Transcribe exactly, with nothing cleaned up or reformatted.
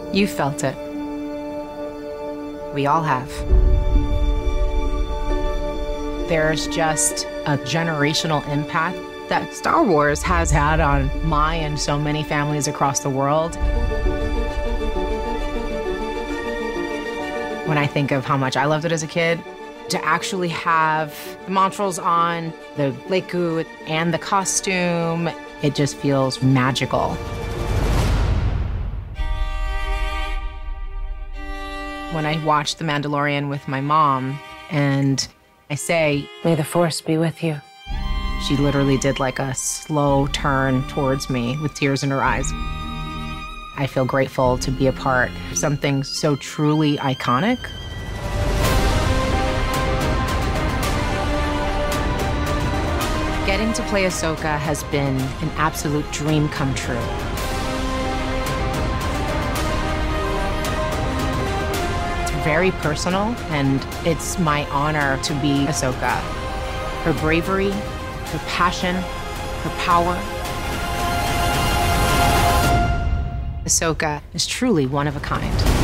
You felt it. We all have. There's just a generational impact that Star Wars has had on my and so many families across the world. When I think of how much I loved it as a kid, to actually have the Montrals on, the Leku, and the costume, it just feels magical. When I watch The Mandalorian with my mom and I say, "May the Force be with you," she literally did like a slow turn towards me with tears in her eyes. I feel grateful to be a part of something so truly iconic. Getting to play Ahsoka has been an absolute dream come true. It's very personal, and it's my honor to be Ahsoka. Her bravery, her passion, her power. Ahsoka is truly one of a kind.